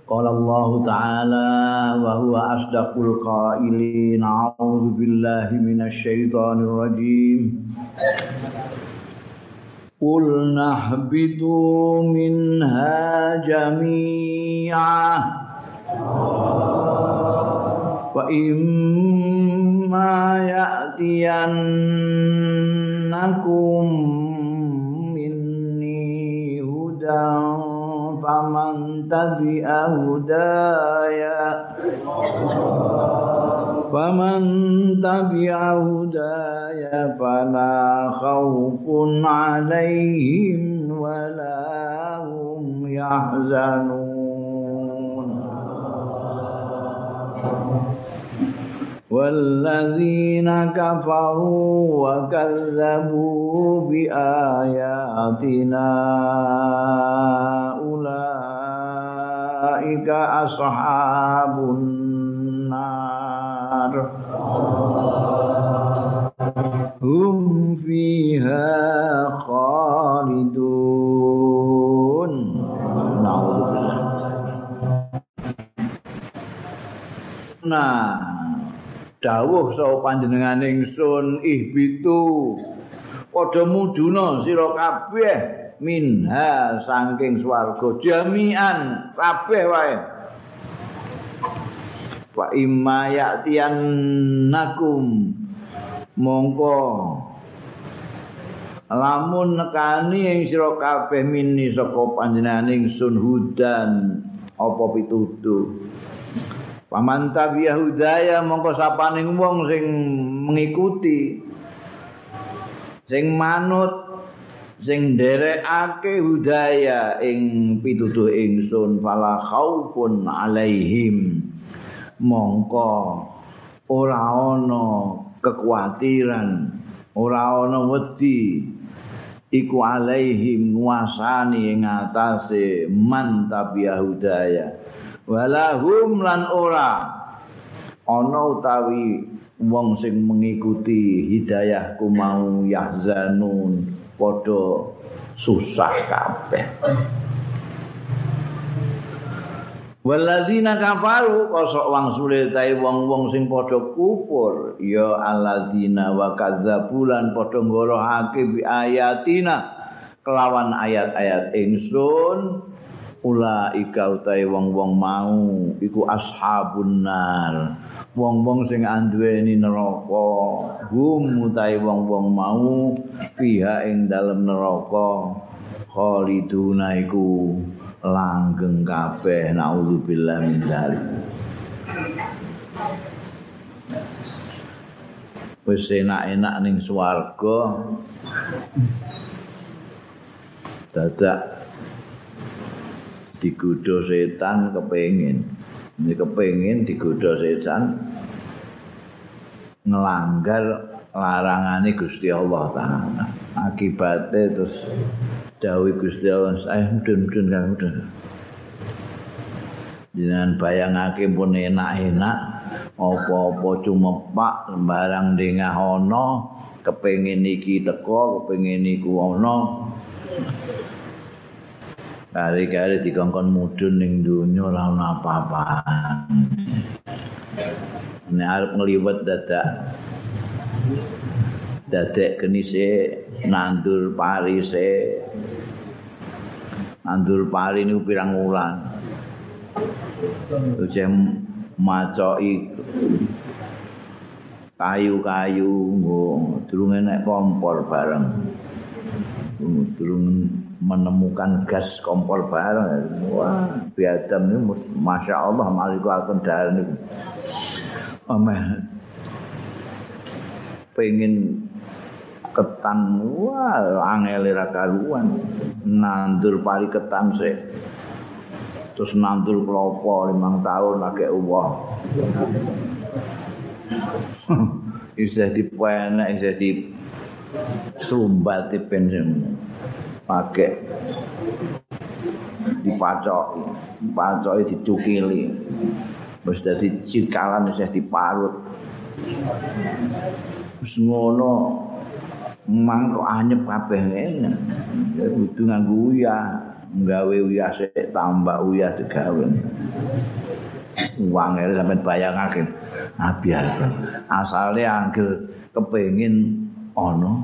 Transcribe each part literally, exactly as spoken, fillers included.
Qala Allah Ta'ala wa huwa asdaqul qailin. A'udzu billahi minasy syaithanir rajim. Qul nahbitu minha jami'a wa imma ya'tiyannakum minni hudan faman tabi'a hudaya faman tabi'a hudaya fala khawfun 'alaihim wala hum yahzanun walladzina kafaru wa kazzabu bi ayatina ulaika ashabun nar hum fiha khalidun. Na'udzubillah. Nah, dawuh saha panjenengan ingsun ihbitu padha muduna sira kabeh minha saking swarga jami'an kabeh wae. Wa imma ya'tiyannakum mongko lamun nekani ing sira kabeh mini saka panjenengan ingsun hudan apa pituduh. Paman tabi'a hudaya mongko sapaning wong sing mengikuti sing manut sing nderekake hudaya ing pituduh ingsun fala khaufun alaihim mongko ora ana kekuatiran ora ana wedi iku alaihim nguasani ing atase man tabi'a hudaya walahum lan ora ana utawi wong sing mengikuti hidayahku mau yahzanun padha susah kabeh. Walladzina kafaru kosok wangsule tae wong-wong sing padha kufur ya alladzina wa kadzabulan padha ngorohake bi ayatina kelawan ayat-ayat ingsun. Ulaika utahe wong-wong mau iku ashabun nar wong-wong sing anduweni neraka hum utahe wong-wong mau fiha ing dalem neraka khaliduna iku langgeng kabeh naudzubillah min dzalik. Wis enak-enak ning swarga dadak digodha setan kepengin ini kepengin digodha setan ngelanggar larangane Gusti Allah Ta'ala akibate terus dawuh Gusti Allah saya mudun-mudun kan mudun jenengan bayangake pun enak-enak apa-apa cumepak sembarang dengah ana kepengin iki teko kepengin iku ana kari-kari dikongkon mudun ning donya ora ana apa-apaan. Nek arep ngliwet dadak dadek genise nandur parise. Nandur pari niku pirang wulan. Ujeh macoki kayu-kayu nggo durung enek kompor bareng. Durung menemukan gas kompor bareng. Wah, biadam ini masya Allah maliku akan darah ini. Ameh pengen ketan, wah angel ra karuan. Nandur pari ketan sih. Terus nandur klopo limang tahun lagi uwah. Isih dipenek, isih di sumbat bensin. Pakai dipacoki, dipacoki dicukili. Wis dadi cikalan wis diparut. Wis ngono mang kok anyep kabeh ngene. Ya kudu nganggo uyah. gawe uyah sik tambah uyah digawe. Uang itu sampai bayangake Nabi Adam asale angger kepengin ono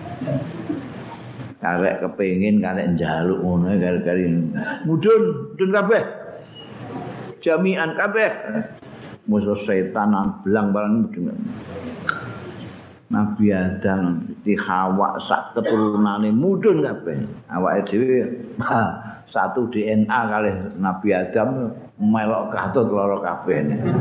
karek kepengin karek njaluk ngono gara-gara mudun mudun kabeh jami'an kabeh musuh setan belang barang mudun. Nabi Adam di Hawa sak keturunane mudun kabeh awake dhewe satu D N A kali Nabi Adam melok katut loro kabeh.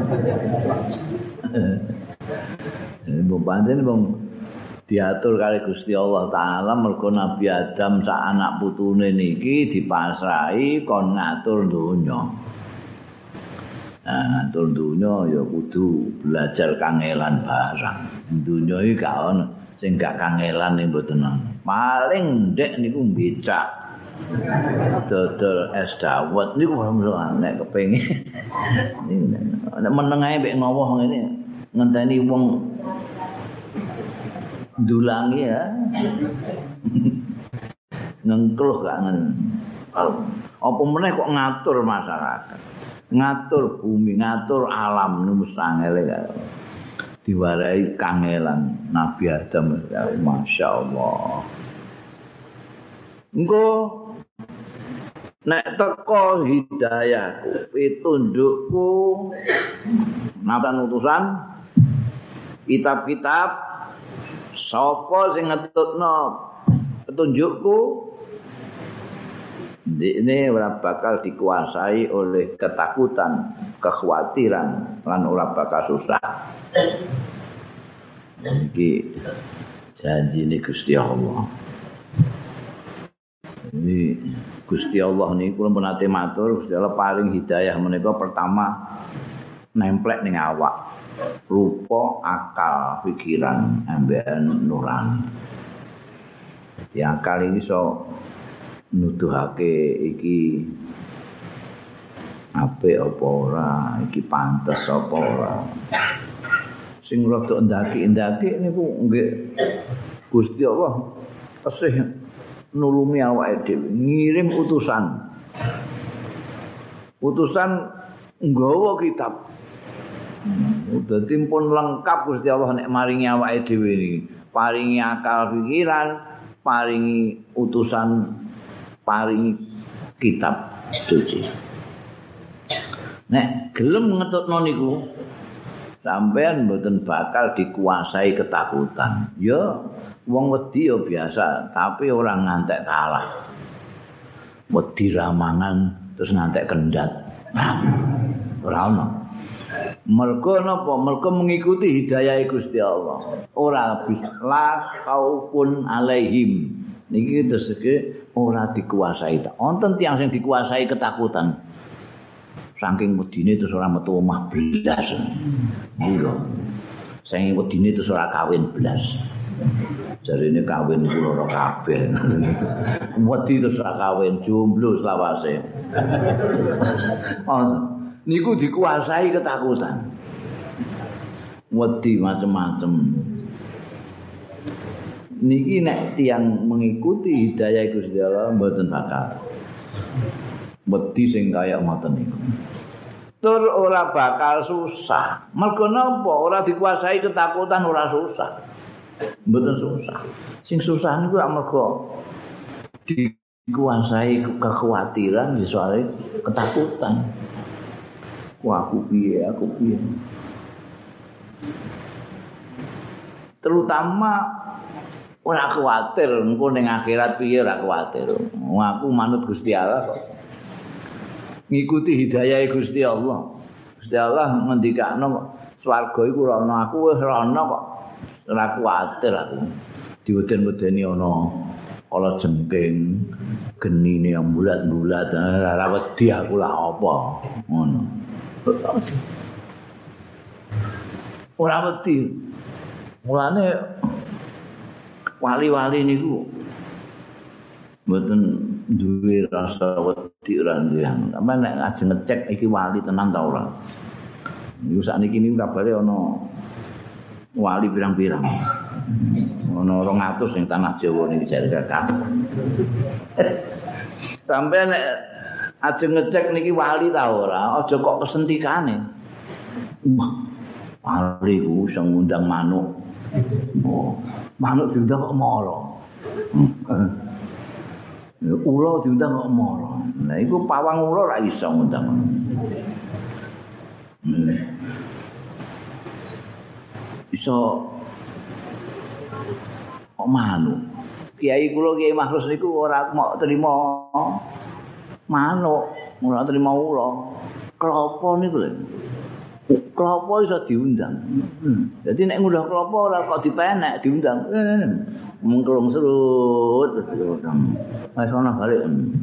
Mbok pancen wong diatur kali Gusti Allah taala mergo Nabi Adam sak anak putune niki dipasrahi kon ngatur donya. Nah, ngatur donya ya kudu belajar kangelan barang. Donya iki gak ono sing gak kangelan ning mboten. Paling ndek niku becak. Dodol es dawet niku nek kepengin. Nek meneng ae mek ngowoh ngene ngenteni wong dulangi ya. Ngengkluh gak ngen. Apa meneh kok ngatur masyarakat. Ngatur bumi, ngatur alam niku sangele karo. Diwarai kangelan Nabi Adam, Masya Allah. Engko nek teko hidayahku, pitundukku, napa utusan, kitab-kitab, sapa sing ngetutno petunjukku, ini ora bakal dikuasai oleh ketakutan, kekhawatiran, lan ora bakal susah. Iki janji ini Gusti Allah. Ini Gusti Allah nih, kula pun nate matur, Gusti Allah paling hidayah menika pertama nemplek ning awak, rupa, akal, pikiran, ambekan nurani. Jadi akal ini so nuduhake iki apik apa ora, iki pantes apa ora. Sing rada ndaki-ndaki niku nggih Gusti Allah tesih nulungi awake dhewe, ngirim utusan. Utusan nggawa kitab. Dadi pun lengkap Gusti Allah nek maringi awake dhewe niki. Paringi akal pikiran, paringi utusan, paringi kitab suci. Nek gelem ngetutno niku sampean mboten bakal dikuasai ketakutan. Ya wong wedi ya biasa, tapi orang ngantek kalah. Wedi ramangan terus ngantek kendat. Ora ono. Mergo napa? Mergo mengikuti hidayah Gusti Allah. Ora bisa la khaufun alaihim. Niki teseke ora dikuasai. Wonten tiyang sing dikuasai ketakutan. Saking wedine terus ora metu omah blas. Iya. Saking wedine terus ora kawin blas. Jarine kawin kula ora kabeh. Wedi terus ora kawin jomblo selawase. Oh, niku dikuasai ketakutan. Wedi macam-macam. Niki nek tiyang mengikuti hidayah Gusti Allah mboten bakal wedi sing kaya ngoten niku. Tur ora bakal susah. Mergo napa? Ora dikuasai ketakutan ora susah. Mboten susah. Sing susah niku amarga dikuasai kekhawatiran soal ketakutan. Wah, aku piye, aku piye. Terutama ora kuwatir engko ning akhirat piye ora kuwatir. Wong aku manut Gusti Allah kok. Ngikuti hidayah Gusti Allah. Gusti Allah ngendikakno swarga iku ora ana, aku wis ora ana kok. Ora kuwatir aku. Diweden-wedeni ana kala jengking, genine yang bulat-bulat, ora wedi aku lah apa. Ngono. Ora wedi. Mulane wali-wali niku mboten duwe rasa wedi ora nggih. Sampe nek ajeng ngecek iki wali tenan ta ora. Niku sakniki niku kabare ana wali pirang-pirang. Ana rong atus ning tanah Jawa niki jare kakak. Sampai nek ajeng ngecek niki wali ta ora, aja kok kesentikane. Wah, wali ku sing ngundang manuk. Oh, manuk diundang kok moro. Ula diundang kok moro. Nah, iku pawang ula ora iso ngundang. Hmm. Iso kok manuk. Kiai kula Kiai Makhrus niku ora mau terima manuk, ora terima ula. Klopo niku lho. Klopo iso diundang. Hmm. Jadi nek ngundang klopo ora kok dipenek, diundang. Mengkelung serut terus diundang. Wis ana balik.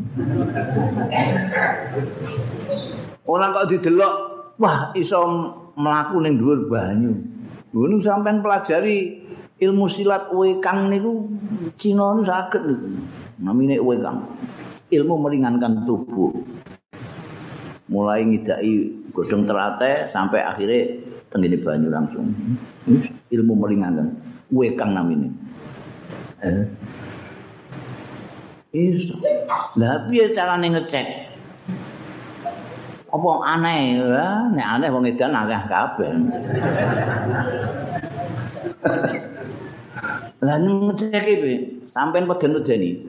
Ora kok didelok, wah iso mlaku ning dhuwur banyu. Ngono sampean pelajari ilmu silat wekang niku Cina niku saged niku. Namine wekang. Ilmu meringankan tubuh. Mulai ngidaki godhong terate sampai akhirnya tenggene banyu langsung. Ilmu meringankan. Wekang namine. Eh. Iso. Lah piye carane ngecek? Apa aneh ya? Nek aneh wong edan akeh kabeh. Lah ngecek iki sampean peden-pedeni.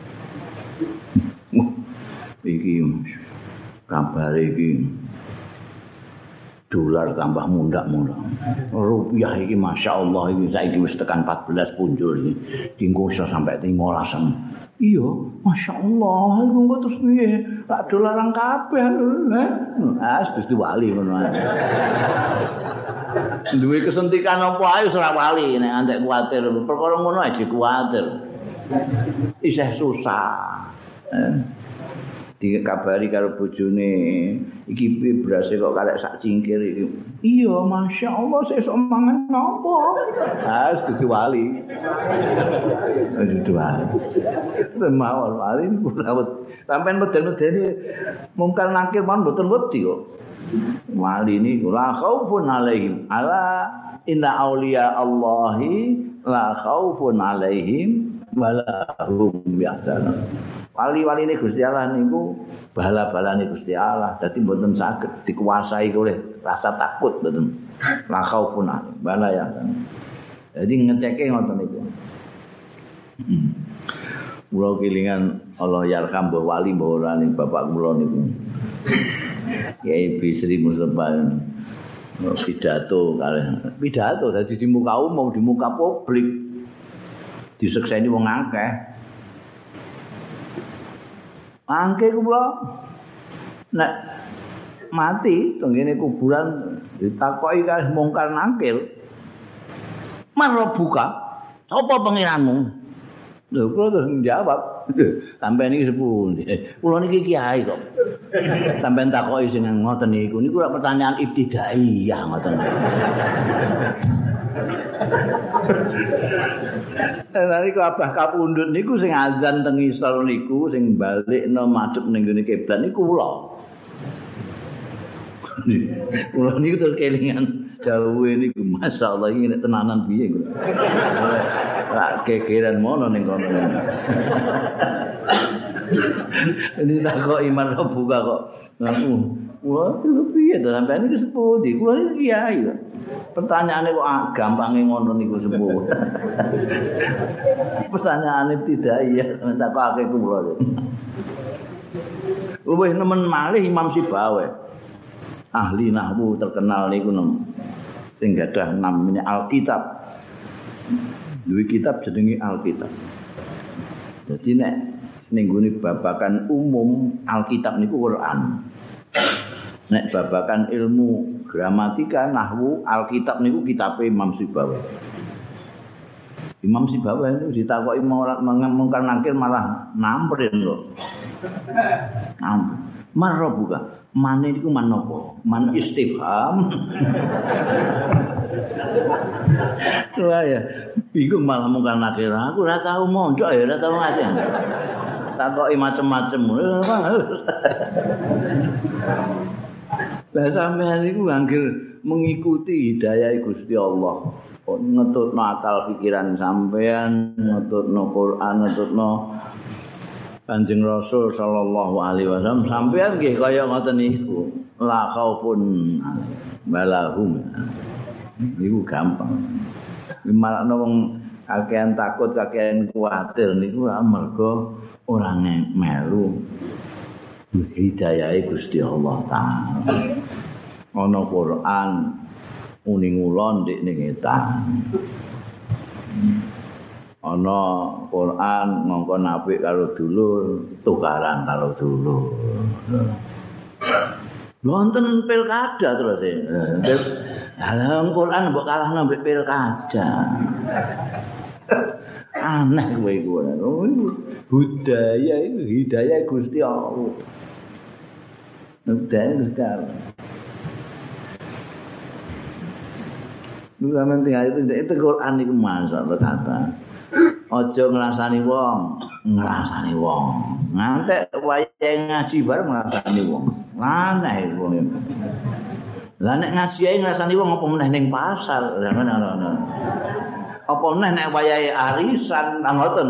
Iki kabar iki dolar tambah mundak-mundak. Rupiah iki Masya Allah iki saiki wis tekan empat belas punjul iki. Dinggo iso sampai lima belas. Iya, Masya Allah, iku kok terus piye? Lak dolaran kabeh lho. Ah, wis wali ngono ae. Duwe kesentikan apa ae ora wali nek antek kuwatir. Perkara ngono aja kuwatir. Isih susah. Eh. Dikabari karo bojone iki piye berase kok karek sak cingkir iki. Iya, Masya Allah sesuk mangan napa? Ah, dudu wali. Dudu wali. Semawon wali niku lawet. Sampeyan meden-medeni mungkar nakir man mboten wedi kok. Wali niku la khaufun alaihim. Ala inna auliya Allahi la khaufun alaihim wala hum yahzanun. Wali-waline Gusti Allah niku bala-balane Gusti Allah, dadi mboten saged dikuasai oleh rasa takut mboten. La khaufun bala ya. Jadi ngeceke ngoten niku. Kula kelingan Allah yarham mbah wali mbah ora ning bapak kula niku. Kiai Bisri Mustafa pidato kalih pidato dadi di muka umum, di muka publik. Disekseni wong akeh. Angke kula nek mati tenggene kuburan ditakoki kalih mungkar nakir. Marobuka, apa pangeranmu? Lho kula terus njawab, sampeyan iki sepuh. Kula niki kiai kok. Sampeyan takoki sing ngoten niku, niku ora pertanyaan ibtidaiyah ngoten. Lha niku abah kapundhut niku sing azan teng isor niku sing balikno madhep ning ngene kiblat niku kula. Kula niku terus kelingan dawuhe niku masyaallah iki nek tenanan piye kula. Ora gegeran mono ning kono. Ini takok iman buka kok. Ngaku. Wah, piye to sampeyan iki sepuh ndi? Kula iki kiai kok. Pertanyaane kok gampange ngono niku sepuh. Pertanyaane tidak iya, takokake kula. Luwih nemen malih Imam Sibawi. Ahli nahwu terkenal niku nom. Sing gadah namine Alkitab. Duwe kitab jenenge Alkitab. Dadi nek ning gone babakan umum Alkitab niku Quran. Nek babakan ilmu gramatika nahwu Alkitab niku kitabe Imam Sibawi. Imam Sibawi itu ditakoki mungkar nakir malah namperin lho. Nam. Marrobuka. Mane niku man napa? Man istifham. Wah ya, bingung malah mungkar nakir. Aku ora tau mondok ya, ora tau ngaji. Takoki macem-macem. Lah sampeyan niku anggere mengikuti hidayah Gusti Allah. Ngetutno akal pikiran sampeyan, ngetutno Quran, ngetutno Kanjeng Rasul sallallahu alaihi wasallam sampean nggih kaya ngoten niku. La khaufun balahum. Niku gampang. Marakno wong kakean takut, kakean kuwatir niku amarga ora melu hidayahe Gusti Allah taala. Ana Quran uning ulon dik ning etan. Ana Quran ngongkon apik karo dulur, tukaran karo dulur. Wonten pilkada terus e. Dalam Quran mbok kalahno mbek pilkada. Aneh kowe iku. Budaya itu hidayah Gusti Allah. Budaya Gusti Allah. Lu sampeyan tinggal itu itu Quran iku masyaallah kata. Aja ngrasani wong, ngrasani wong. Ngantek wayahe ngaji bareng ngrasani wong. Aneh wong. Lah nek ngaji ae ngrasani wong apa meneh ning pasar. Lah ngono. Apa meneh nek wayahe arisan nang ngoten.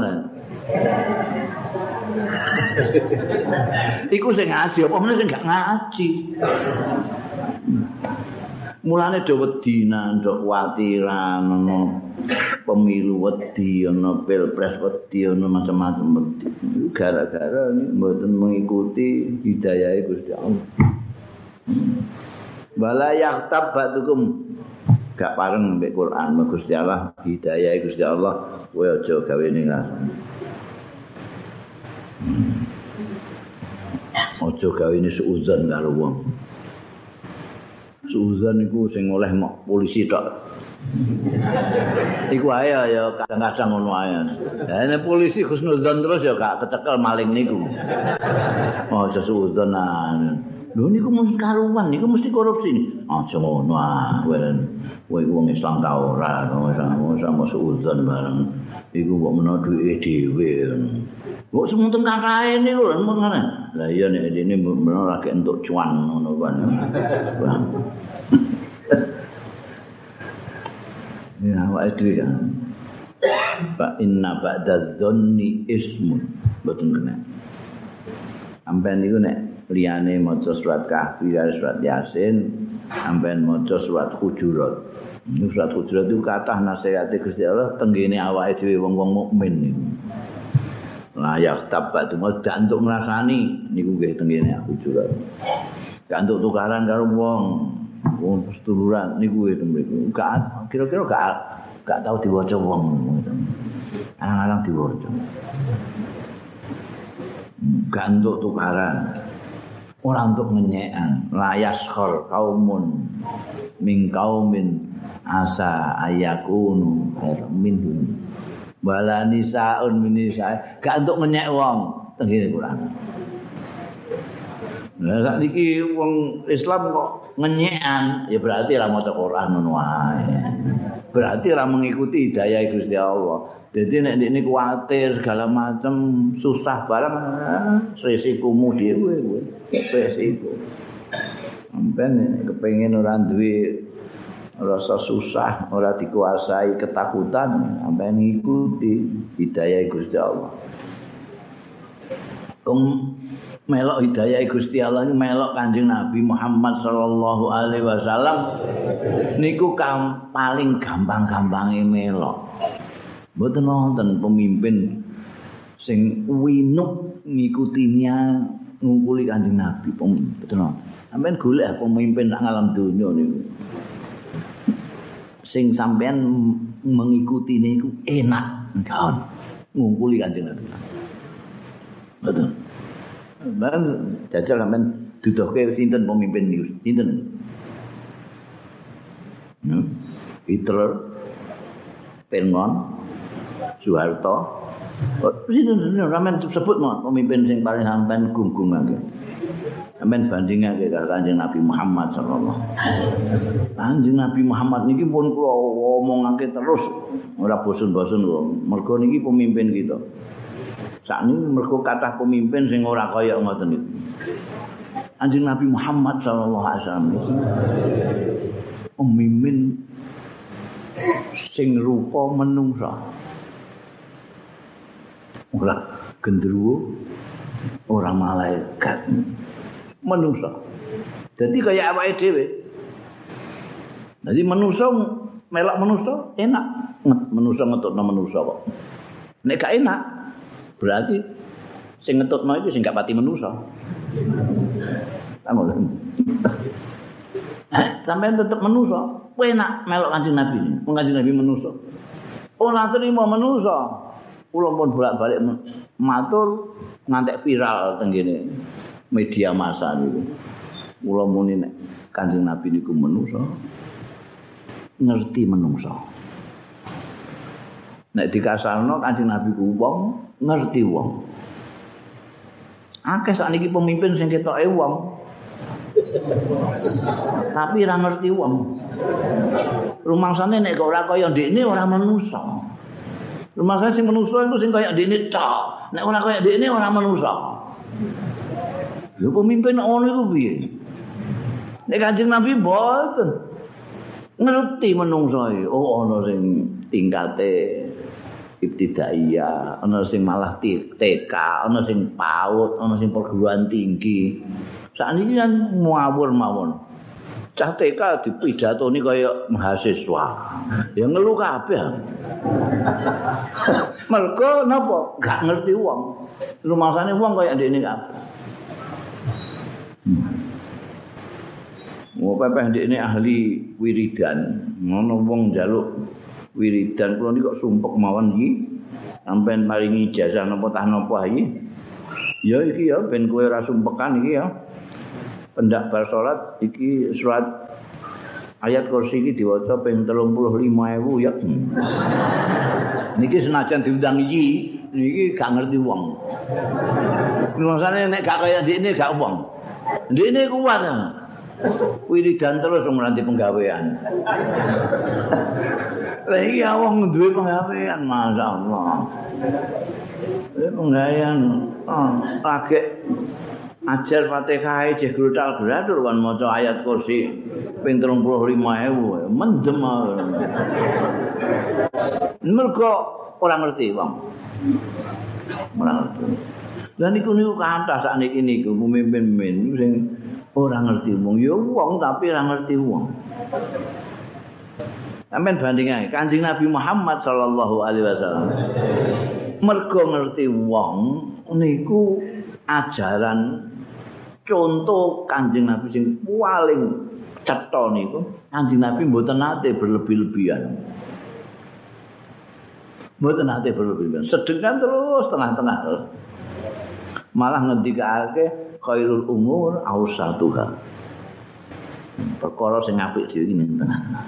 Iku sing ngaji apa meneh sing gak ngaji. Mulane do wedi ndok kuwatiran ana pemilu wedi ana pilpres wedi ana macam-macam wedi. Gara-gara mboten mengikuti hidayahe Gusti Allah. Wala yaktab ba'dukum gak pareng mbek Quran Gusti Allah hidayahe Gusti Allah kowe aja gawe ning rasane. Aja gawe ini suuzon karo wong. Suuzon iku sing oleh mok polisi tok. Iku ae ya kadang-kadang ngono ae. Lah nek polisi husnuzon terus ya gak kecekel maling niku. Oh suuzon nah. Lho niku mesti karuan, niku mesti korupsi. Aja ngono ah, kowe iku wong Islam ta ora, sama suuzon bareng. Iku kok menawa duwike dhewe. Kok semunten kathahé niku lho ngono. Lah iya nek dene menawa lagi entuk cuan ngono kan. Ya awake dhewe kan. Fa inna ba'da dzanni ismun. Boten kena. Sampeyan niku nek liyane maca surat Kahfi karo surat Yasin, sampeyan maca surat Hujurat. Niku surat Hujurat itu kathah nasihate Gusti Allah tenggene awake dhewe wong-wong mukmin niku. Layak tabat itu gak untuk ngrasani niku nggih tenggene Hujurat. Gak untuk tukaran karo wong, wong seduluran niku nggih mriku. Gak kira-kira gak gak tau diwaca wong ngono. Arang-arang diwaca. Gak untuk tukaran. Orang untuk menyekan layas khor kaumun min kaumin asa ayakunu minhum wala nisaun min nisa gak untuk menyek wong tengene Quran. Lah sak niki wong Islam kok ngenyekan ya berarti ora maca Quran ngono wae. Berarti ora mengikuti hidayah Gusti Allah. Jadi nek ndekne kuwatir segala macam susah barang resikomu dhewe kowe. Resiko. Sampeyan kepengin ora duwe rasa susah, ora dikuasai ketakutan, sampeyan ngikuti hidayah Gusti Allah. Wong melok hidayah Gusti Allah melok Kanjeng Nabi Muhammad sallallahu alaihi wasallam niku kam, paling gampang-gampange melok. Mboten wonten pemimpin sing winuk ngikutinya ngumpuli Kanjeng Nabi. Mboten wonten. Sampeyan golek pemimpin sak alam donya niku. Sing sampeyan mengikuti niku enak kawan ngumpuli Kanjeng Nabi. Betul. Lan jajal sampeyan duduhke sinten pemimpin niku? Sinten? Hmm? Hitler, Pengon, Soeharto, Presiden sampean sebut mau pemimpin sing paling sampean gunggung-gungake. Sampean bandingake karo Kanjeng Nabi Muhammad sallallahu alaihi wasallam. Kanjeng Nabi Muhammad niki pun kula omongake terus ora bosen-bosen kok. Mergo niki pemimpin kita. Sakniki mergo kathah pemimpin sing ora kaya ngoten niku. Kanjeng Nabi Muhammad sallallahu alaihi wasallam pemimpin sing rupa menungsa. Ora gendruwo, ora malaikat. Manusa. Dadi kaya awake dhewe. Dadi manusa melok manusa enak, manusa ngetutno manusa kok. Nek gak enak, berarti sing ngetutno iku sing gak pati manusa. Tamu. Sampeyan tetep manusa, enak melok Kanjeng Nabi. Kanjeng Nabi manusa. Ora trimo manusa. Kula pun bolak-balik matur ngantek viral teng kene media massa niku. Kula muni nek Kanjeng Nabi niku manusa. Ngerti menungso. Nek dikasarno Kanjeng Nabi ku wong, ngerti wong. Akeh sakniki pemimpin sing ketoke wong. Tapi ora ngerti wong. Rumangsane nek kok ora kaya ndekne ora menungso. Rumangsane sing menungso iku sing kaya ndekne tok. Nek ora kaya ndekne ora menungso. Lho pemimpin ngono iku piye? Nek Kanjeng Nabi mboten ngerti menungso iki. Oh ana sing tingkate ibtidaiyah, ana sing malah T K, ana sing PAUD, ana sing perguruan tinggi. Sakniki kan ngawur mawon. Cah T K dipidatoni kaya mahasiswa. Ya ngelu kabeh. Mergo napa? Gak ngerti wong. Rumangsane wong kaya ndekne kabeh. Mau pepeh ndekne ahli wiridan. Ngono wong njaluk wiridan kula niki kok sumpek mawon iki. Sampeyan maringi ijazah napa tah napa iki? Ya iki ya ben kowe ora sumpekan iki ya. Pendak bar salat iki surat ayat kursi iki diwaca ping telung puluh lima ewu ya. Niki senajan diundang iki, niki gak ngerti wong. Maksane nek gak kaya ndekne gak wong. Ndekne kuat. Wiridan terus nganti penggawean. Lah iki wong duwe penggawean, masyaallah. Eh penggawean oh, lagi ajar Fatihah jeh grutal-gradur kan maca ayat kursi ping telung puluh lima ewu mendem. Mergo ora ngerti wong. Ora ngerti. Lah niku niku kathah sakniki niku pemimpin-pemimpin sing ora ngerti wong. Ya wong tapi ora ngerti wong. Sampeyan bandingake Kanjeng Nabi Muhammad sallallahu alaihi wasallam. Mergo ngerti wong niku ajaran contoh Kanjeng Nabi sing paling cetha niku Kanjeng Nabi mboten nate berlebih-lebihan. Mboten nate berlebih-lebihan. Sedengkan terus tengah-tengah terus. Malah ngendikake khairul umur ausatuha. Perkara sing apik dhewe iki ning tengah-tengah.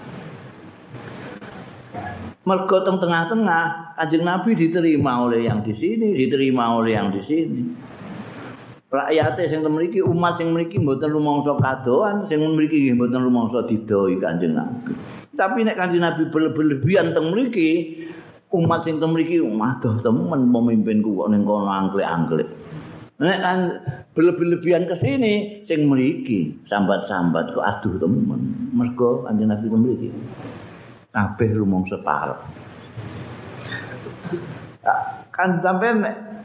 Mergo teng tengah-tengah Kanjeng Nabi diterima oleh yang di sini, diterima oleh yang di sini. Rakyate sing mriki umat sing mriki mboten rumangsa kadoan, sing mriki nggih mboten rumangsa didoi Kanjeng Nabi. Tapi nek Kanjeng Nabi berlebihan teng mriki, umat sing teng mriki madoh temen pemimpinku kok ning kono angklek-angklek. Nek kan berlebihan ke sini sing mriki sambat-sambat kok aduh temen. Mergo Kanjeng Nabi teng mriki. Kabeh rumangsa parek. Kan sampean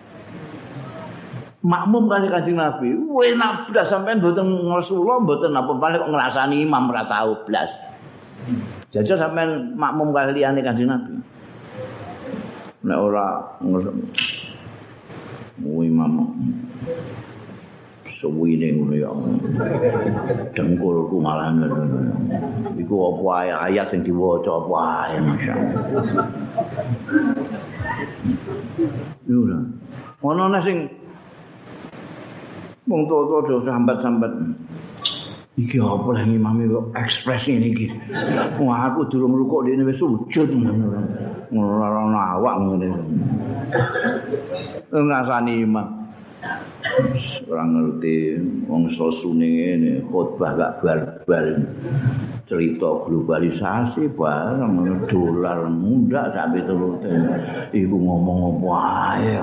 makmum kali Kanjeng Nabi, enak blas sampean mboten ngrasula mboten apa paling kok ngrasani imam ora tau blas. Jajal sampean makmum kali liyane Kanjeng Nabi. Nek ora ngurus imam suwine ngono ya. Dengkulku malah ngono. Iku apa ayat sing diwaca apa ae masyaallah. Lho. Ono ana sing wong tuwa-tuwa sambat-sambat. Iki apa lah imame kok ekspres ngene iki. Wah aku durung rukuk dene wis sujud ngono. Ngono ora awak ngene. Ngrasani imam. Ora ngerti wong sosune ngene khotbah gak bar-bar. Cerita globalisasi bareng dolar mundak sampe turute. Iku ngomong apa ae.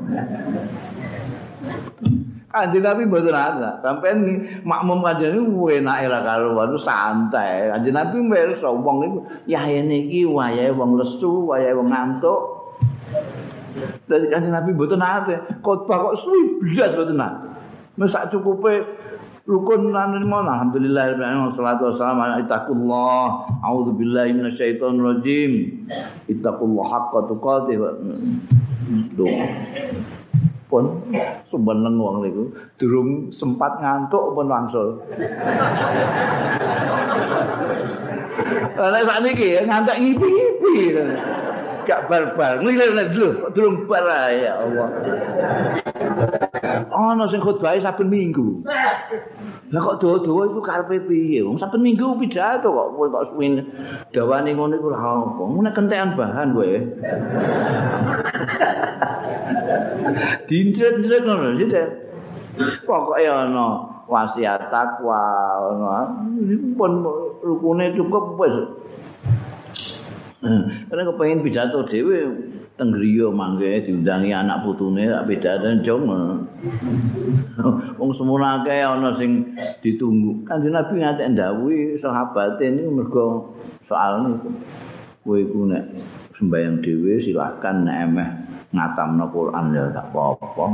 Kanjeng Nabi mboten ada. Sampeyan makmum kanjeng niku enake ra karuan santai. Kanjeng Nabi mirsa wong niku yahene iki wayahe wong lesu, wayahe wong ngantuk. Dadi Kanjeng Nabi mboten nate khotbah kok suwi blas mboten nate. Wis sak cukupe rukun lan mon alhamdulillah wassalatu wassalamu ala ittaqullah a'udzubillahi minasyaitonir rajim ittaqullah haqqa tuqatih pun sumeneng wong niku durung sempat ngantuk pun wangsul. Lah sakniki ngantuk ngipi-ngipi. Gak bar-bar nglilir lho durung bar ya Allah. Ana sing khotbah saben minggu. Lah kok dawa-dawa iku karepe piye? Wong saben minggu pidato kok kowe kok suwin dawane ngono iku lha apa? Nek kentekan bahan kowe. Dincret-ncret ngono sih deh. Pokoke ana wasiat takwa ana pun rukune cukup wis. Karena kepengin pidato dhewe teng griya mangke diundangi anak putune tak pidato jong. Wong semono akeh ana sing ditunggu. Kanjeng Nabi ngatek ndhawuhi sahabate niku mergo soal niku. Kowe iku nek sembayang dhewe silakan nek emeh ngatamno Quran ya tak apa-apa.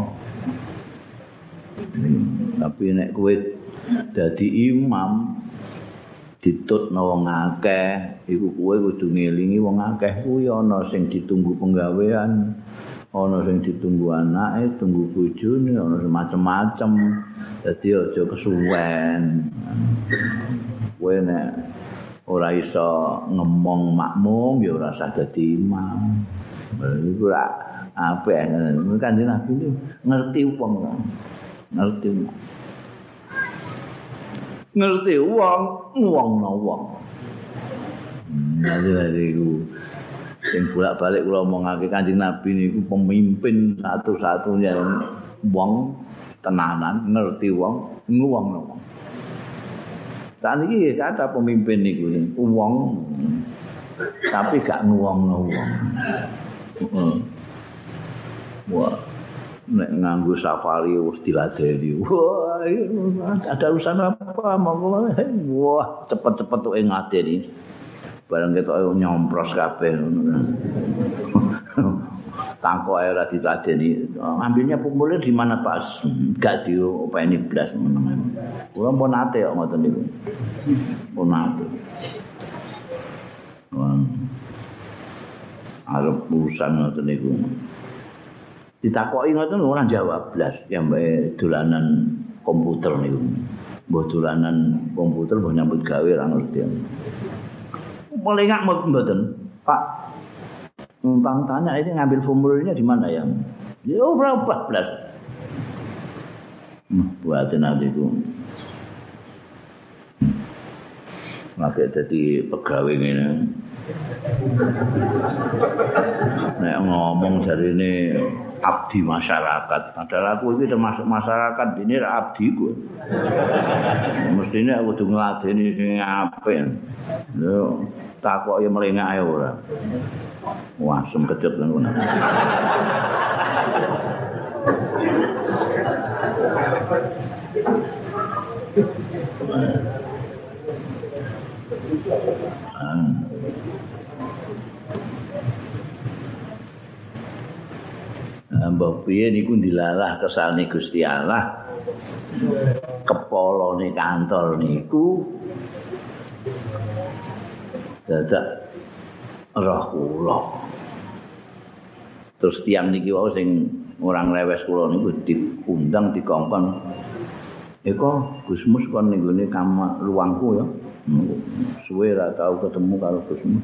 Tapi nek kowe dadi imam ditutno wong akeh iku kowe kudu ngelingi wong akeh kuwi ana sing ditunggu penggawean, ana sing ditunggu anake, tunggu bojone, ana macem-macem. Dadi aja kesuwen. Kowe nek ora iso ngemong makmum ya ora usah dadi imam. Iku ora apik ngono. Kanjeng Nabi ngerti wong. Ngerti wong. Ngerti wong, wong-no wong. Jadi iku sing bolak-balik kula omongake Kanjeng Nabi niku pemimpin satu-satunya wong tenanan, ngerti wong, nguwong-no wong. Saniki kata pemimpin niku wong tapi gak nguwong-no wong. Heeh. Wah. Nek nganggo safari wis diladeni. Wah, ada urusan apa monggo. Wah, cepet-cepet tuh ngadeni. Bareng ketok nyompros kabeh ngono. Tangkok ae ora diladeni. Ambilnya formulir di mana Pak? Gak diopeni blas meneng. Kula pun nate kok ngoten niku. Pun nate. Wah. Arep urusan ngoten niku. Ditakoki ngoten ora jawab blas ya mbake dolanan komputer niku. Mbok dolanan komputer mbok nyambut gawe ora ngerti. Mulai ngak mboten, Pak. Numpang tanya ini ngambil formulirnya di mana ya? Ya berapa blas. Hmm, buatin adikku. Maka dadi pegawai ngene. Nek ngomong jarine abdi masyarakat. Padahal aku iki termasuk masyarakat, ini abdi ku. Mestine aku kudu ngladeni sing apik. Lho, takok ya melengak ae ora. Wah, sem kecut ngono. Mbah piye niku dilalah kesane Gusti Allah. Kepolone kantor niku dadak roh kula. Terus tiang niki wae sing orang lewes kula niku diundang dikongkon. Eko Gusmus kon ning gone kamar ruangku ya. Suwe ra tau ketemu karo Gusmus.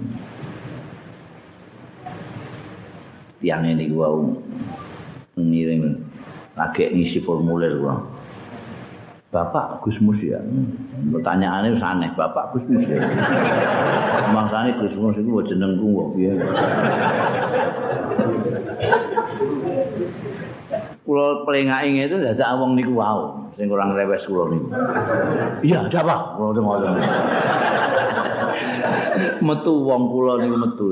Tiang ini gua ngiring lagi ngisi formulir gua. Bapak Gusmus ya. Pertanyaannya aneh, Bapak Gusmus ya. Maksane Gusmus iku jenengku kok piye. Kula pelengake itu dadak wong niku wau sing kurang rewes kula niku. Iya, ada apa? Kula ngono. Metu wong kula niku metu.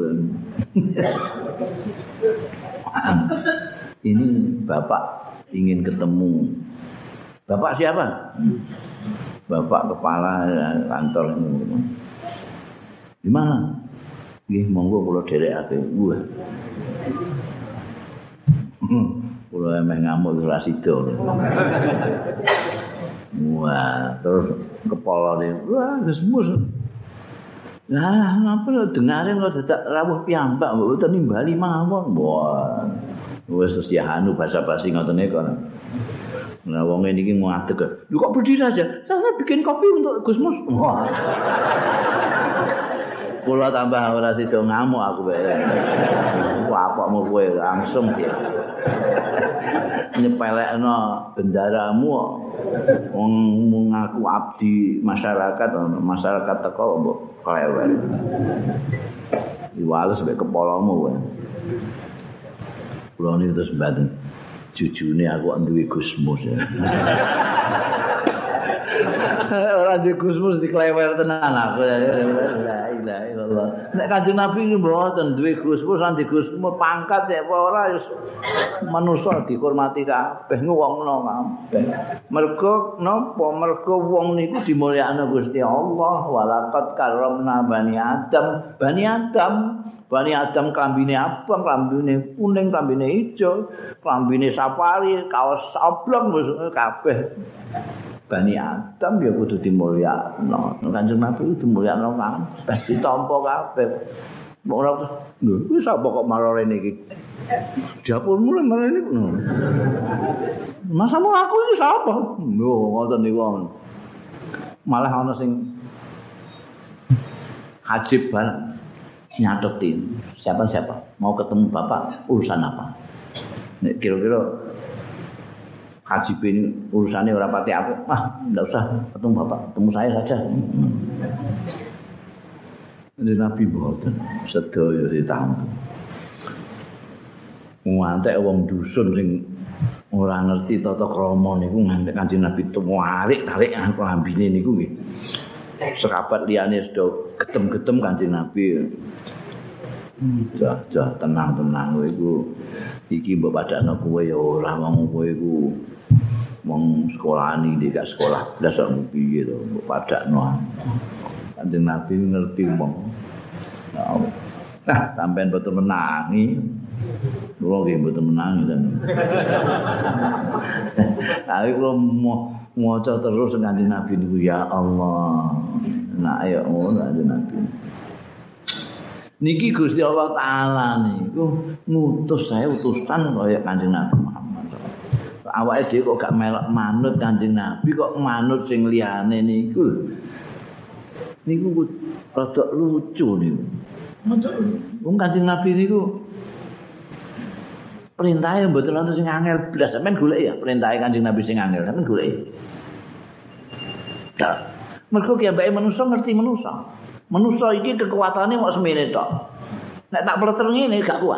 Ini Bapak ingin ketemu. Bapak siapa? Bapak kepala kantor ini. Di mana? Nggih, monggo kula dherekake. Wah. Kula emeh ngamuk ora sida. Wah, terus kepalane wah gesmus. Lah, napa dengare kok dadak rawuh piyambak mbok boten nimbali mawon. Wah. Wis terus ya anu basa-basi ngoten niku. Nah, wong niki mau ngadeg. Lu kok berdiri aja? Saya bikin kopi untuk Gusmus. Wah. Kula tambah ora sida ngamuk aku bae. Wah, kok mau kowe langsung dia. Nyepelekno bendaramu wong ngaku abdi masyarakat, masyarakat teko mbok klewer. Diwales mek kepalamu kowe. Kula niku terus mbaten jujune aku duwe Gusmus. Ora duwe Gusmus diklewer tenan aku. La ilaha illallah. Nek Kanjeng Nabi iki mboten duwe Gusmus, lan di Gusmus pangkat ya apa ora wis manusa dihormati kabeh ngwongno kabeh. Mergo napa? Mergo wong niku dimulyakno Gusti Allah. Walaqad karramna bani Adam. Bani Adam Bani Adam klambine abang, klambine kuning, klambine ijo, klambine safari, kaos oblong kabeh. Bani Adam ya kudu dimulyakno. Kanjeng Nabi kudu dimulyakno kabeh, ditampa kabeh. Ora lho, wis apa kok marane iki? Dapurmu marane iki. Masamu aku iki sapa? Lho, ngoten niku. Malah ana sing hajib bareng. Nyatetin siapa-siapa mau ketemu bapak urusan apa? Nek kira-kira haji ini urusannya ora pati aku, ah enggak usah ketemu bapak, ketemu saya saja. Ini Nabi mboten sedaya ditampa. Ngantek wong dusun sing ora ngerti tata krama niku ngantek Kanjeng Nabi tarik-tarik lambine niku nggih. Sekabat liyane sudah getem-getem Kanjeng Nabi. Jah, jah tenang-tenang kowe iku iki mbok padakno kowe ya ora wong kowe iku wong sekolahane iki gak sekolah blas kok piye to mbok padakno. Kanjeng Nabi ngerti wong. Nah, sampean boten menangi. Kula nggih boten menangi ten. Tapi kula maca terus Kanjeng Nabi niku ya Allah. Nah ayo ngono Kanjeng Nabi. Niki Gusti Allah taala niku ngutus saya utusan kaya Kanjeng Nabi Muhammad. Awake dhewe kok gak melok manut Kanjeng Nabi kok manut sing liyane niku. Niku rada lucu niku. Wong Kanjeng Nabi niku perintahnya mboten wonten sing angel blas. Sampeyan golek ya perintahe Kanjeng Nabi sing angel, sampeyan golek. Dah. Mergo ki ambeke manusa ngerti manusa. Manusa iki kekuatane mok semene tok. Nek tak pleter ngene gak kuat.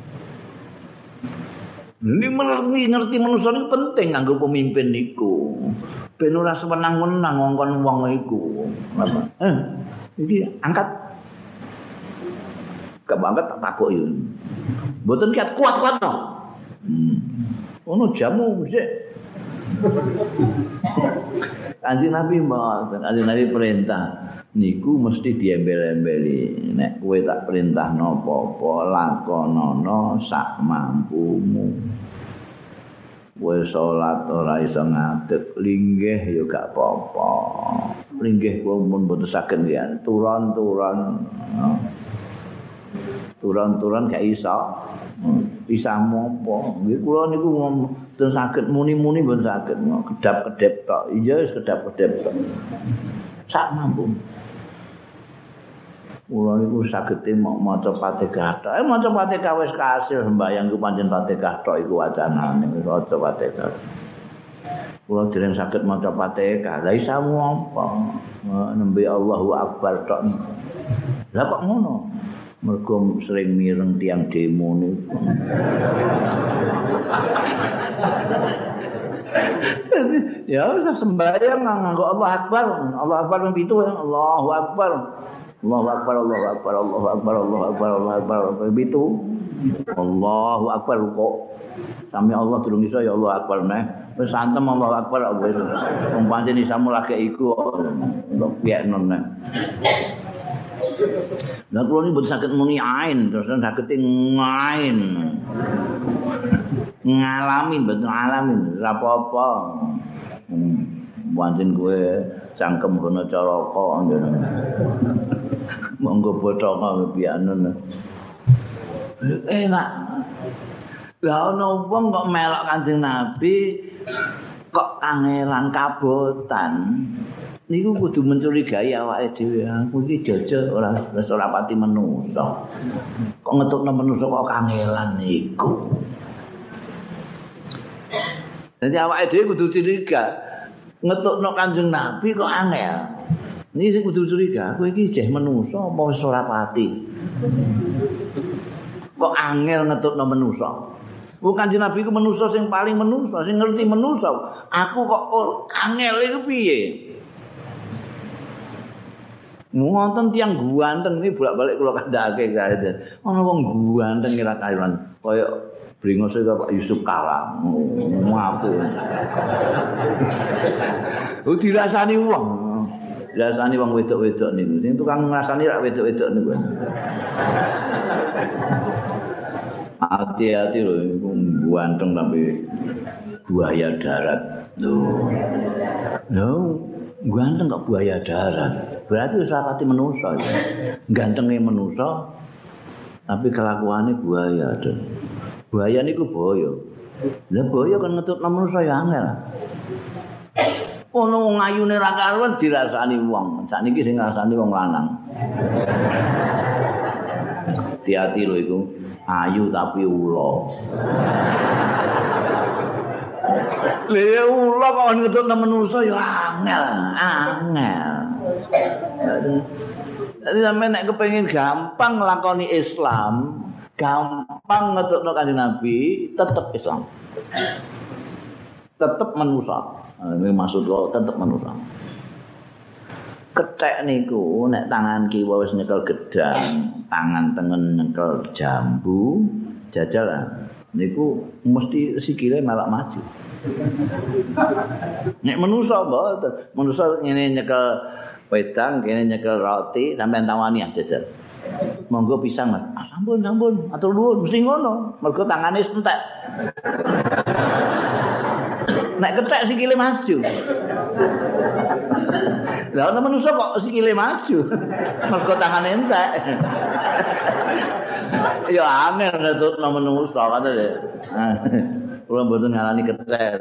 Ini ngerti ngerti manusa niku penting kanggo pemimpin niku. Ben ora sewenang-wenang ngongkon wong iku. Eh, iki angkat. Gak angkat tak tabok yo. Mboten kiat kuat-kuat no. Hmm. Ono jamu mesti. Kanjeng Nabi mboten, Kanjeng Nabi perintah niku mesti diembel-embeli. Nek kowe tak perintahno apa-apa lakonana sak mampumu. Kowe salat ora iso ngadeg, linggih ya gak apa-apa. Linggih kula mun mboten saged ya, turon-turon. Turon-turon gak iso. Bisa mopo. Nggih kula niku mboten saged muni-muni mboten saged. Kedap-kedep tok. Iya wis kedap-kedep tok. Sak mampu. Kula niku saged maca Fatihah tok. Eh maca Fatihah wis kasil sembayang ku pancen Fatihah tok iku wacanane wis maca Fatihah. Kula dereng saged maca Fatihah. Lah isamu apa? Nembe Allahu Akbar tok. Lah kok ngono? Mergo sering mireng tiang demo niku. Ya wis sembayang nganggo Allah Akbar. Allah Akbar ping pitu Allahu Akbar. Allahu Akbar, Allahu Akbar, Allahu Akbar, Allahu Akbar, Allahu Akbar. Pitu. Allahu Akbar kok. Sami Allah durung iso ya Allah Akbar neh. Wis santem Allahu Akbar wis. Wong pancen isamu lagi iku kok piye neh. Lah kula niku mboten saged muni ain, terus saged ngain. Ngalamin mboten ngalamin, ora apa-apa. Pancen kowe cangkem kono caraka ngene. Monggo bothonga pianen. Enak. Lah ana wong kok melok Kanjeng Nabi kok kangelan kabotan. Niku kudu mencurigai awake dhewe. Aku iki jajal ora wis ora pati menungso. Kok ngetukno menungso kok kangelan niku. Dadi awake dhewe kudu curiga. Ngetukno Kanjeng Nabi kok angel. Niki sing kudu curiga, kowe iki jeh menungso apa wis ora pati. Kok angel ngetukno menungso. Wong Kanjeng Nabi ku manusa sing paling manusa, sing ngerti manusa. Aku kok oh, angel iku piye? Wonten tiyang guanteng iki bolak-balik kula kandhake kae. Ana wong guanteng kira kairan kaya bringose Pak Yusuf Kala. Ngaku. Oh dirasani wong. Dirasani wong wedok-wedok niku. Sing tukang ngrasani rak wedok-wedok niku. Hati-hati loh, itu ganteng tapi buaya darat. Loh, loh, ganteng kok buaya darat. Berarti sarati manusa. Ya. Gantengnya manusa, tapi kelakuannya buaya. Buaya ini ku boyo. Lah boyo kan ngetut manusa ya angel. Ono wong ayune ra karuan dirasani wong. Sakniki sing ngrasani wong lanang. Hati-hati loh itu. Ayu tapi ula. Lha ula kok ngetutno menungso ya angel, angel. Jadi sampe nek kepengin gampang nglakoni Islam, gampang ngetutno Kanjeng Nabi, tetep Islam. Tetep manusa. Ini maksud kok tetep manusa. Kethek niku nek tangan kiwa wis nyekel gedang, tangan tengen nyekel jambu, jajalan niku mesti sikile malah maju. Nek manusa mboten, manusa ngene nyekel wedang, kene nyekel roti, sampean tawani jajal. Monggo pisang, Mas. Ah, sampun, sampun, atur nuwun, mesti ngono. Mergo tangane entek. Nek ketek sikile maju. Lah ana manusa kok sikile maju. Mergo tangane entek. Ya angel ngetutno manusa katene. Kula mboten ngalani ketek.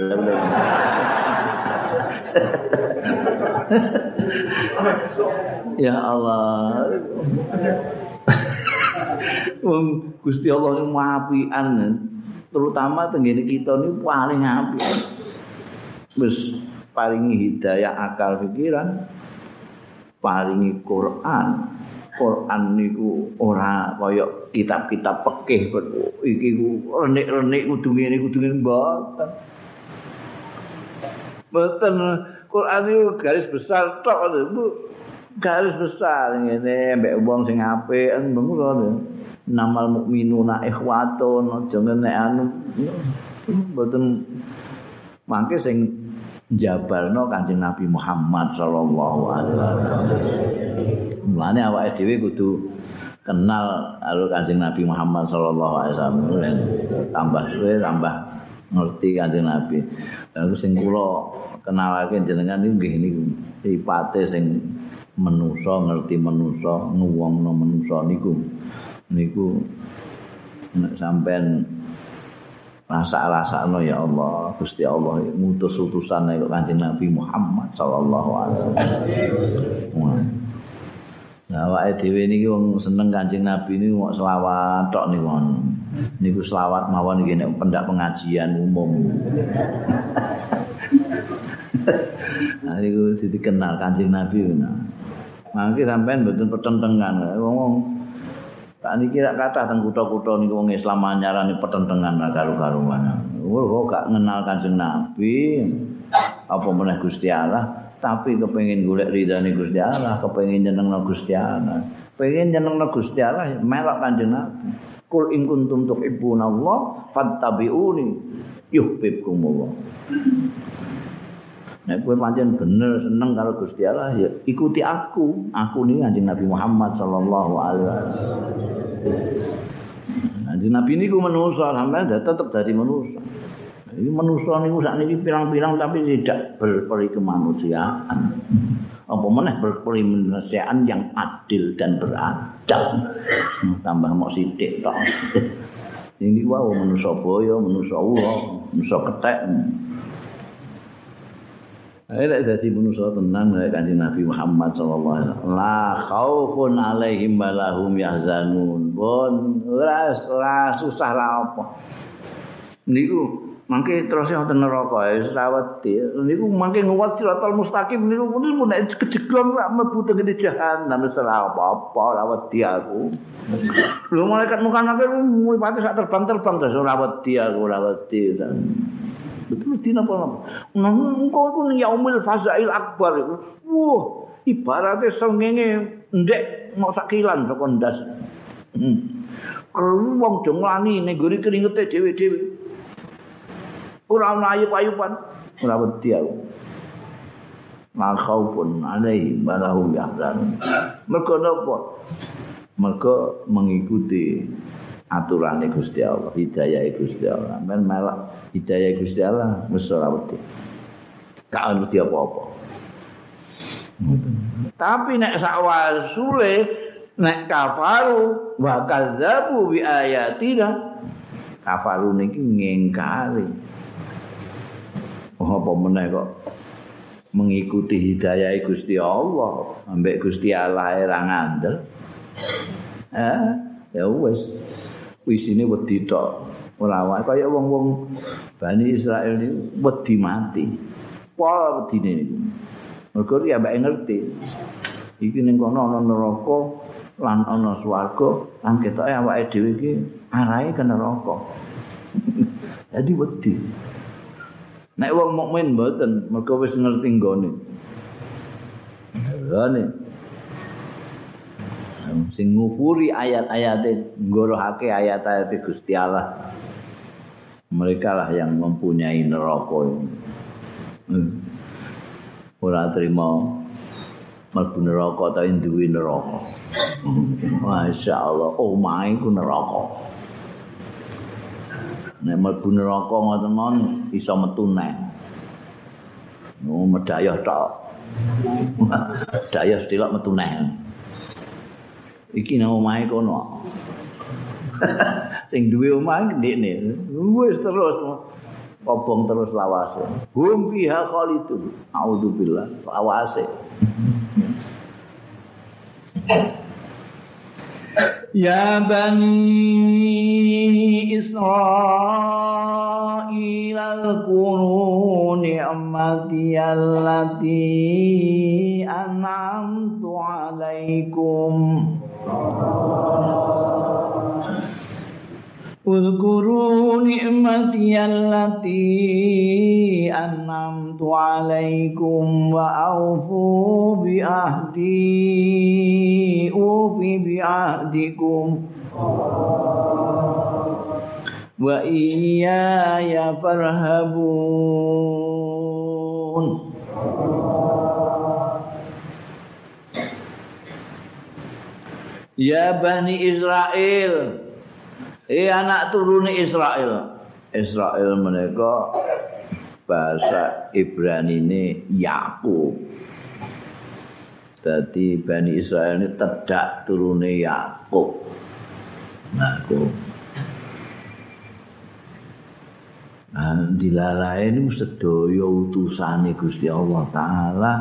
Ya Allah. Wong Gusti Allah niku apian. Terutama tenggene kita niku paling apik. Wis paringi hidayah akal pikiran, paringi Quran. Quran niku ora kaya kitab-kitab pekeh iki ku renik-renik kudu ngene kudu ngene mboten. Mboten Quran niku garis besar tok Bu. Garis besar ngene mbek wong sing apik ngono. Namal mukminuna ikhwatun aja ngene anu mboten mangke sing jabalno Kanjeng Nabi Muhammad sallallahu alaihi wasallam. Mulane awake dhewe kudu kenal karo Kanjeng Nabi Muhammad sallallahu alaihi wasallam. Tambah suwe tambah ngerti Kanjeng Nabi. Lha sing kula kenalake jenengan niku nggih niku sifate sing manusa ngerti manusa, nuwungno manusa niku. Niku nek sampean rasa-rasakno ya Allah, Gusti Allah ngutus utusan karo Kanjeng Nabi Muhammad sallallahu alaihi wasallam. Nah, awake dhewe niki wong seneng Kanjeng Nabi niku kok selawat tok niku. Niku selawat mawon iki nek pendak pengajian umum. Nah, niku dikenal Kanjeng Nabi. Mangke sampean mboten pertentangan. Wong tak niki rak kathah teng kutha-kutha niku wong Islam nyarani pertentangan ra karo-karuan. Kok gak ngenal Kanjeng Nabi, apa meneh Gusti Allah, tapi kepengin golek ridane Gusti Allah, kepengin nyenengno Gusti Allah. Pengen nyenengno Gusti Allah melok Kanjeng Nabi. Qul in kuntum tuhibbunallah fattabi'uni yuhibbukumullah. Nek kowe pancen bener seneng karo Gusti Allah ya ikuti aku. Aku niki Kanjeng Nabi Muhammad sallallahu alaihi wasallam. Kanjeng Nabi niku manusa, sampeyan tetep dadi manusa. Iki manusa niku sakniki pirang-pirang tapi tidak berperi kemanusiaan. Apa meneh berperi kemanusiaan yang adil dan beradab. Tambah mok sithik tok. Ini wae manusa boyo, manusa ulo, manusa kethek. Ayo dadi manusa tenang kaya Kanjeng Nabi Muhammad sallallahu alaihi wasallam. La khaufun alaihim wa lahum yahzanun. Bon ora ora susah ra apa. Niku mangke terus wonten neraka wis ra wedi. Niku mangke nguwat siratal mustaqim niku pun nek kejeglong ra mlebu teng jahanam wis ora apa-apa ra wedi aku. Lho malaikat mukanake mripate sak terbang-terbang terus ora wedi aku ora wedi. Betul mesti napa-napa. Nang engko iku yaumil fazail akbar iku. Wah, ibarate srengenge ndek mok sak kilan saka ndas. Hmm. Kalau wong do nglangi ning gone keringete dhewe-dhewe. Ora ana ayub-ayuban, ora wedi aku. La khaufun alaihim wa lahum yahzanun. Mergo napa? Mergo mengikuti aturane Gusti Allah, hidayah Gusti Allah. Men malah hidayah Gusti Allah wis ora wedi. Ka wedi apa-apa. Tapi nek sakwasule nek kafaru wa kadzabu bi ayatina, kafaru niki ngingkari. Oh apa meneh kok mengikuti hidayah Gusti Allah, ambek Gusti Allah ora ngandel. Eh, ya wis. Wisine wedi tok. Ora wae kaya wong-wong Bani Israil niku wedi mati. Apa wedine niku? Mergo ya mbake ngerti. Iki ning kono ana neraka lan ana swarga, lan ketoke awake dhewe iki arahe ke neraka. Dadi wedi. Nek wong mukmin mboten, mergo wis ngerti nggone. Ngene. Sing ngupuri ayat-ayate, nggorohake ayat-ayate Gusti Allah. Mereka lah yang mempunyai neraka ini. Hmm. Ora terima mlebu neraka ta duwe neraka. Masyaallah, omahe ku neraka. Nek mlebu neraka ngoten mon iso metu neh. Oh, medayah tok. Dayah sedelok metu neh. Iki nang omahe kono. Sing duwe omah ndekne. Wis terus obong terus lawase. Hum fiha khalidun. Auzubillah lawase. Ya bani Israil al-kuru ni'mati allati an'amtu alaikum. Udhkuru ni'mati allati an'amtu alaikum wa awfu bi ahdi ufi bi ahdikum wa iyaya farhabun. Ya Bani Israel, eh anak turune Israel. Israel menika bahasa Ibrani ini Yakub. Dadi Bani Israel ini tedak turune Yakub. Yakub. Nah, dilalae niku sedaya utusane Gusti Allah taala.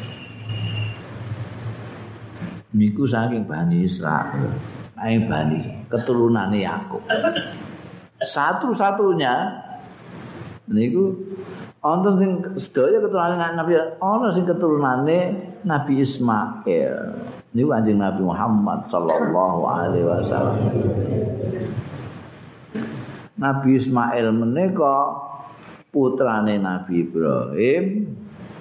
Niku saking Bani Israil, ae Bani keturunane Yakub. Satu-satunya niku wonten sing sedaya keturunane Nabi, ana sing keturunane Nabi Ismail. Niku Kanjeng Nabi Muhammad sallallahu alaihi wasallam. Nabi Ismail menika putrane Nabi Ibrahim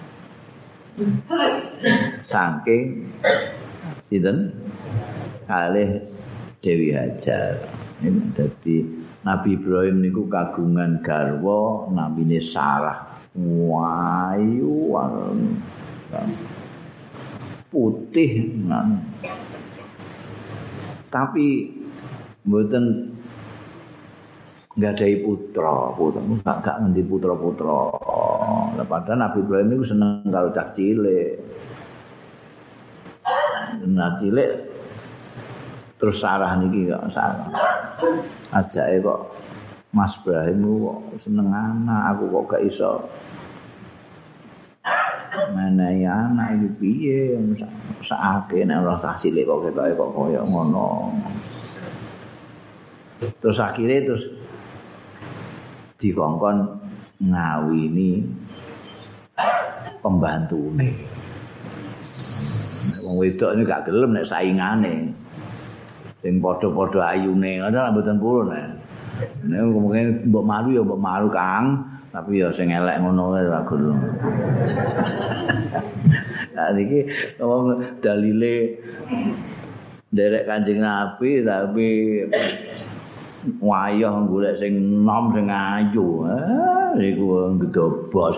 saking sinten kalih Dewi Hajar. Dadi Nabi Ibrahim niku kagungan garwa namine Sarah. wayu putih nah. Tapi mboten nggadahi putra, putra gak gak ngendi putra-putra. Lah padahal Nabi Ibrahim niku seneng karo cah cilik. Nah cilik terus Sarah niki kok Sarah. Ajake kok Mas Ibrahim kok seneng anak, aku kok gak iso menehi anak iki piye sakake nek ora cah cilik kok ketoke kok koyo ngono. Terus akhirnya terus dikongkon ngawini pembantune. Wong wedok ini gak gelem nek saingane. Sing padha-padha ayune, ngono mboten purun nek. Nek mungkin mbok malu ya mbok malu Kang, tapi ya sing elek ngono wae ora gelem. Nah iki wong dalile nderek Kanjeng Nabi tapi wayah golek sing nom sing ayu. Ah, iku gedobos.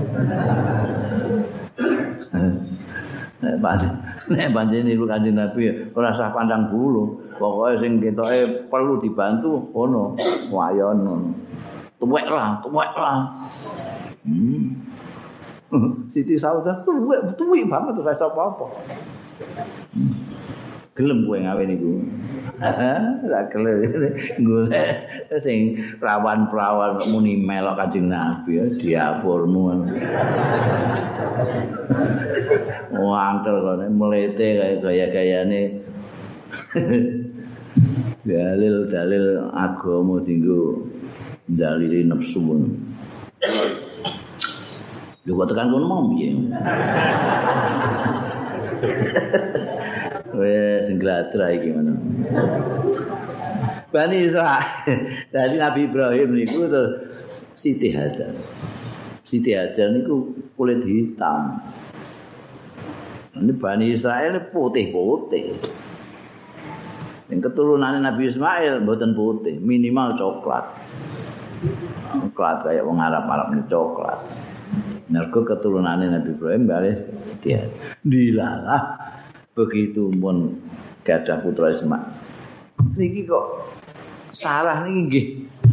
Nek pancen nek pancen niku Kanjeng Nabi ora usah pandang bulu. Pokoke sing ketoke perlu dibantu ngono, wayah ngono. Tuwek lah, tuwek lah. Hmm. Siti Saudah tuwek, tuwek banget terus iso apa-apa. Hmm. Gelem kowe ngawe niku. Ora gelem golek sing prawan-prawan muni melok Kanjeng Nabi diapurmu. Wangkel kene mlete kaya gaya-gayane. Dalil-dalil agama dinggo dalil nafsu. Lho kok tekan kono mau piye? Wes sing glatra iki ngono. Bani Israil. Dadi Nabi Ibrahim niku terus Siti Hajar. Siti Hajar niku kulit hitam. Ini Bani Israil putih-putih. Yang keturunannya Nabi Ismail mboten putih, minimal coklat. Coklat kayak wong Arab-Arab ini coklat. Mergo keturunannya Nabi Ibrahim balik dia. Dilalah begitu pun gadah putra Ismail. Niki kok Sarah niki nggih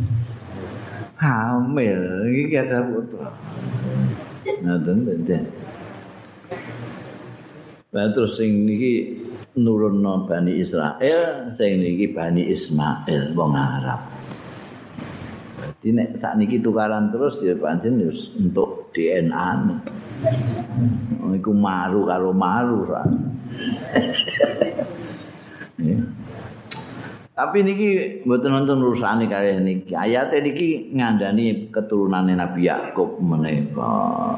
hamil niki gadah putra. Ngoten ten. Lah terus sing niki nurunno Bani Israil, sing niki Bani Ismail wong Arab. Dadi nek sakniki tukaran terus ya pancen wis entuk D N A. Iku maru karo maru ra. Ya. Tapi niki mboten wonten urusane kalih niki. Ayate niki ngandani keturunane Nabi Yakub menika.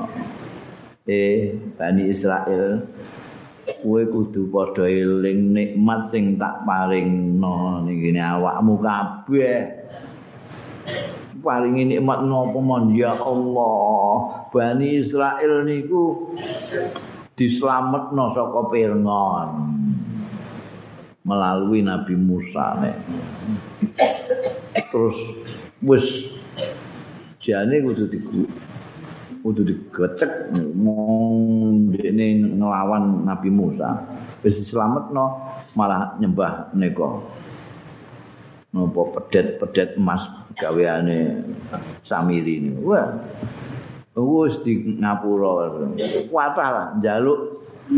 Eh Bani Israil kowe kudu padha eling nikmat sing tak paringno niki awakmu kabeh. Paringi nikmat napa mon ya Allah. Bani Israil niku dislametno saka Fir'aun melalui Nabi Musa nek. Terus wis jane kudu diku kudu digecek mong dene nglawan Nabi Musa wis dislametno malah nyembah nika napa pedet-pedet emas gaweane Samiri niku wah wis di ngapura kuatah lah njaluk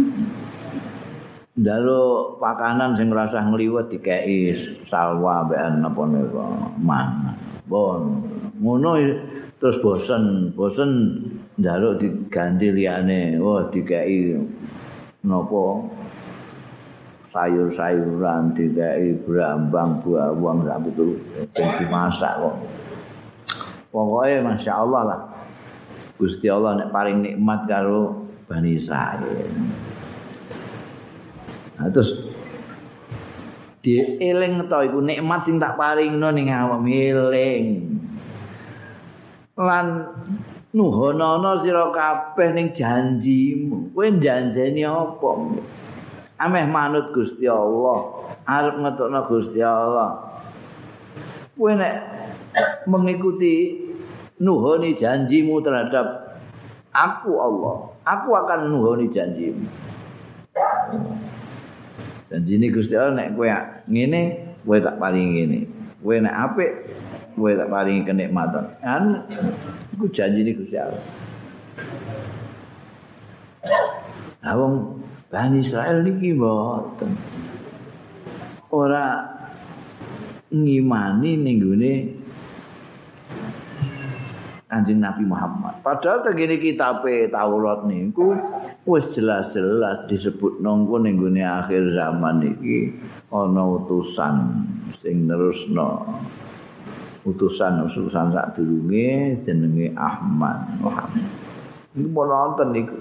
njaluk pakanan sing rasah ngliwet dikeki salwa mbekan napa nika mangan bon ngono terus bosen bosen njaluk diganti liyane wah dikeki napa sayur-sayuran dikeki brambang bawang sampe itu dimasak kok pokoke masyaallah lah Gusti Allah nek paring nikmat karo Bani Israil. Nah terus dieling to iku nikmat sing tak paringno ning awak eling. Lan nuhonono sira kabeh ning janjimu. Kowe janjeni apa? Ameh manut Gusti Allah, arep ngetokno Gusti Allah. Kowe nek mengikuti nuhoni janjimu terhadap Aku Allah, aku akan nuhoni janjimu. Janjine Gusti Allah nek kowe ngene, kowe tak paringi ngene. Kowe nek apik, kowe tak paringi kenikmatan. Kan iku janjine Gusti Allah. Lah wong Bani Israil niki mboten. Ora ngimani ning gone Kanjeng Nabi Muhammad. Padahal tengene kitabe Taurat niku wis jelas-jelas disebut nongko ning gone akhir zaman iki ana utusan sing nerusno. Utusan-utusan sadurunge jenenge Ahmad Muhammad. Niku wonten niku.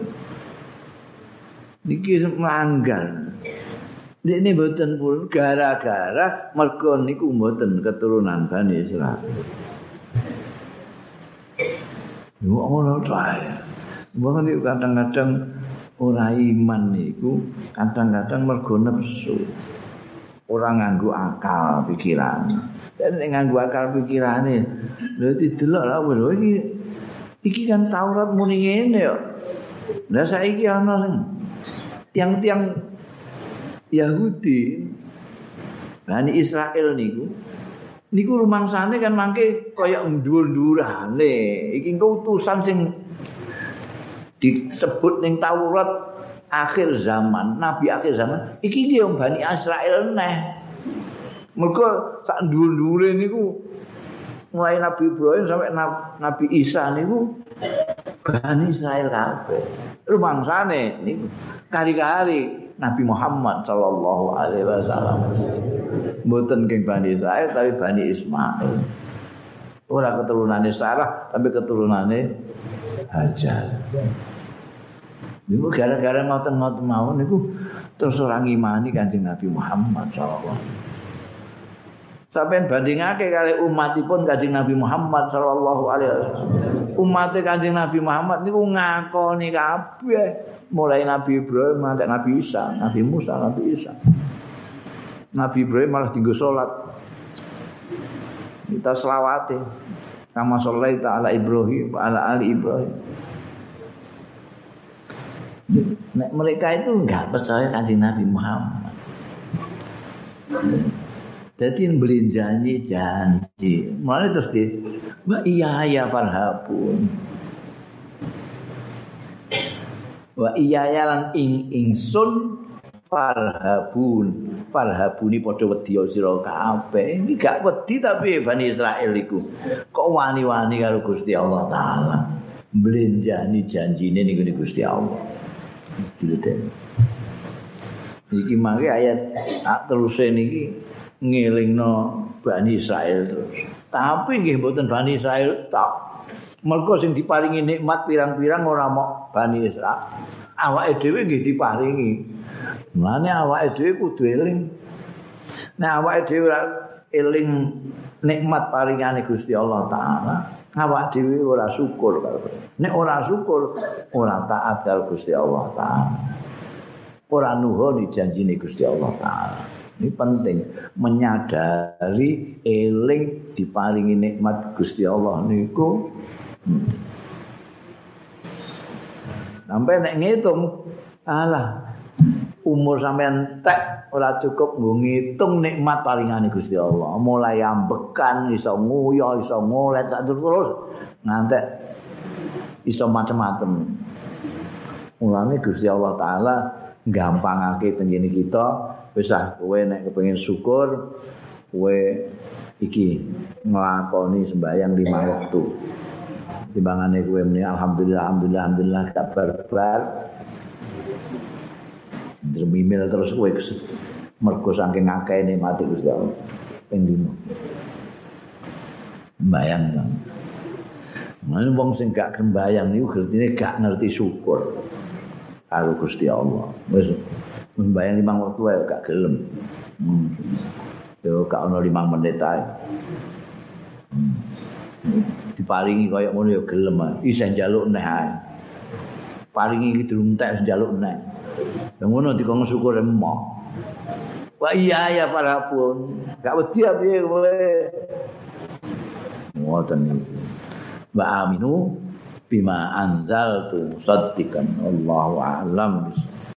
Niki melanggar. Ini mboten pun gara-gara mergo niku mboten keturunan Bani Israil. Yo ora tae. Wong niku kadang-kadang ora iman niku, kadang-kadang mergo nepsu. Ora nganggo akal pikiran. Dan nek nganggo akal pikirane, lha didelok lha lho iki iki kan Taurat muni ngene yo. Lah saiki ana sing tiang-tiang Yahudi Bani Israil niku niku rumangsane kan mangke kaya ndur-ndurane iki engko utusan sing disebut ning Taurat akhir zaman, nabi akhir zaman iki ki wong Bani Israil neh. Mergo sak ndur-ndure niku mulai Nabi Ibrahim sampai Nabi Isa niku Bani Israil kabeh. Rumangsane niku kari-kari Nabi Muhammad sallallahu alaihi wasallam. Mboten geng Bani Israil tapi Bani Ismail. Ora keturunane Sarah tapi keturunane Hajar. Niku gara-gara ngoten-ngoten mawon niku terus ora ngimani Kanjeng Nabi Muhammad sallallahu alaihi wasallam. Sampai bandingake kali umatipun Kanjeng Nabi Muhammad sallallahu alaihi wasallam. Umat Kanjeng Nabi Muhammad niku ngakoni kabeh mulai Nabi Ibrahim sampai Nabi Isa, Nabi Musa, Nabi Isa. Nabi Ibrahim malah dienggo salat. Kita selawate. Kama shallaita ala Ibrahim wa ala ali Ibrahim. Nek mereka itu enggak percaya Kanjeng Nabi Muhammad. Jadi belinjanji janji. Mulai terus di, wa iya ya farhabun. Wa iya ya lan ing ingsun farhabun. Farhabuni padha wedi sira kabeh. Ini gak wedi tapi Bani Israil iku. Kok wani-wani karo Gusti Allah taala. Belinjani janjine niku Gusti Allah. Dileten. Iki mangke ayat teruse niki ngelingno Bani Israil terus. Tapi nggih mboten Bani Israil tak. Mergo sing diparingi nikmat pirang-pirang ora mok Bani Israil. Awake dhewe nggih diparingi. Mulane awake dhewe kudu eling. Nek awake dhewe ora eling nikmat paringane Gusti Allah taala, awake dhewe ora syukur karo. Nek ora syukur, ora taat karo Gusti Allah taala. Ora nuhoni janjine Gusti Allah taala. Ini penting menyadari eling diparingi nikmat Gusti Allah niku. Hmm. Sampai nek ngitung, alah umur sampean tek ora cukup nggo ngitung nikmat paringane Gusti Allah. Mulai ambekan, iso nguyo, iso ngolet terus ngantek iso macam-macam. Mulane Gusti Allah taala gampangake tengene kita. Wis ah kowe nek kepengin syukur kowe iki nglakoni sembahyang lima waktu. Timbangane kowe muni alhamdulillah alhamdulillah alhamdulillah kabar bar. Dremimil terus kowe mergo saking akeh nikmate Gusti Allah. Ping lima. Mbayang kan. Mane wong sing gak sembahyang niku gertine gak ngerti syukur karo Gusti Allah. Wis membayang lima waktu ae gak gelem. Hmm. Yo gak ono lima menit ae. Hmm. Diparingi kaya ngono yo gelem ae. Isih njaluk neh ae. Paringi iki durung entek njaluk neh. Lah ngono dikon syukur emoh. Wa iya ya farapun. Gak wedi piye kowe. Ngoten iki. Wa aminu bima anzaltu musaddiqan wallahu a'lam.